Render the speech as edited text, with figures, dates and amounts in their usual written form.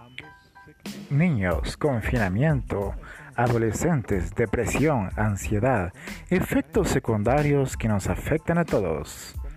Niños, confinamiento, adolescentes, depresión, ansiedad, efectos secundarios que nos afectan a todos.